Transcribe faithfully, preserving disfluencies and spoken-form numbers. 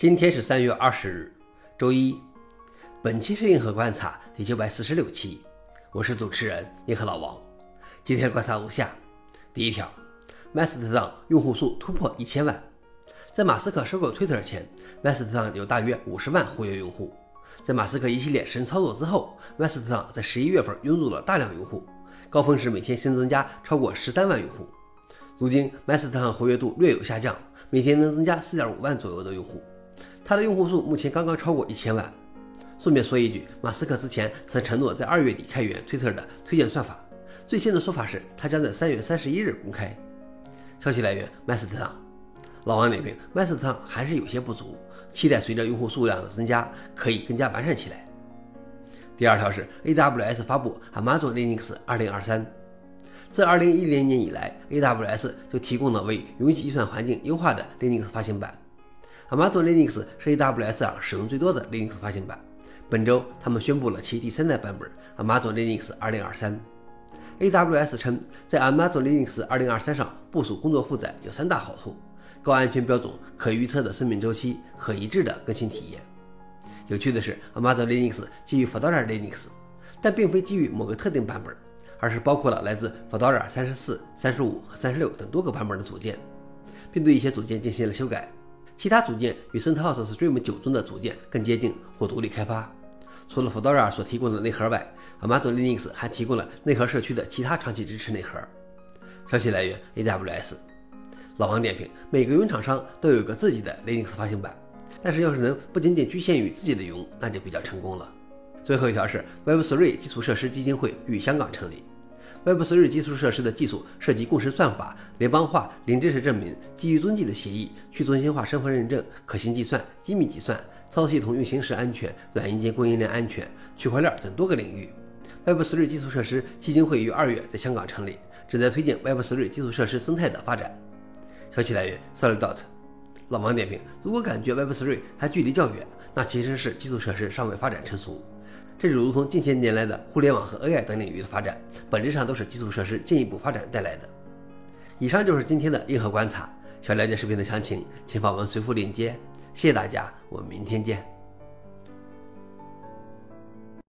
今天是三月二十日，周一。本期是硬核观察第九百四十六期，我是主持人硬核老王。今天的观察如下：第一条，麦斯特党用户数突破一千万。在马斯克收购推特前，麦斯特党有大约五十万活跃用户。在马斯克一系列神操作之后，麦斯特党在十一月份涌入了大量用户，高峰时每天新增加超过十三万用户。如今麦斯特党活跃度略有下降，每天能增加 四点五万左右的用户。他的用户数目前刚刚超过一千万。顺便说一句，马斯克之前曾承诺在二月底开源推特的推荐算法，最新的说法是他将在三月三十一日公开。消息来源麦斯特党。老王点评：麦斯特党还是有些不足，期待随着用户数量的增加可以更加完善起来。第二条是 A W S 发布 Amazon Linux 二零二三。自二零一零年以来 A W S 就提供了为云计算环境优化的 Linux 发行版。Amazon Linux 是 A W S 上使用最多的 Linux 发行版。本周，他们宣布了其第三代版本 Amazon Linux 二零二三。A W S 称，在 Amazon Linux 二零二三上部署工作负载有三大好处：高安全标准、可预测的生命周期和一致的更新体验。有趣的是 ，Amazon Linux 基于 Fedora Linux， 但并非基于某个特定版本，而是包括了来自 Fedora 三十四、三十五和三十六等多个版本的组件，并对一些组件进行了修改。其他组件与 CentOS Stream 九中的组件更接近或独立开发。除了 Fedora 所提供的内核外， Amazon Linux 还提供了内核社区的其他长期支持内核。消息来源 A W S。 老王点评：每个云厂商都有一个自己的 Linux 发行版，但是要是能不仅仅局限于自己的云，那就比较成功了。最后一条是 Web 三 基础设施基金会于香港成立。Web 三 基础设施的技术涉及共识算法、联邦化、零知识证明、基于踪迹的协议、去中心化身份认证、可信计算、机密计算、操作系统运行时安全、软硬件供应链安全、区块链等多个领域。Web 三 基础设施基金会于二月在香港成立，旨在推进 Web 三 基础设施生态的发展。消息来源 Solidot。 老王点评：如果感觉 Web 三 还距离较远，那其实是基础设施尚未发展成熟。这就如同近些年来的互联网和 A I 等领域的发展，本质上都是基础设施进一步发展带来的。以上就是今天的硬核观察。想了解视频的详情，请访问随附链接。谢谢大家，我们明天见。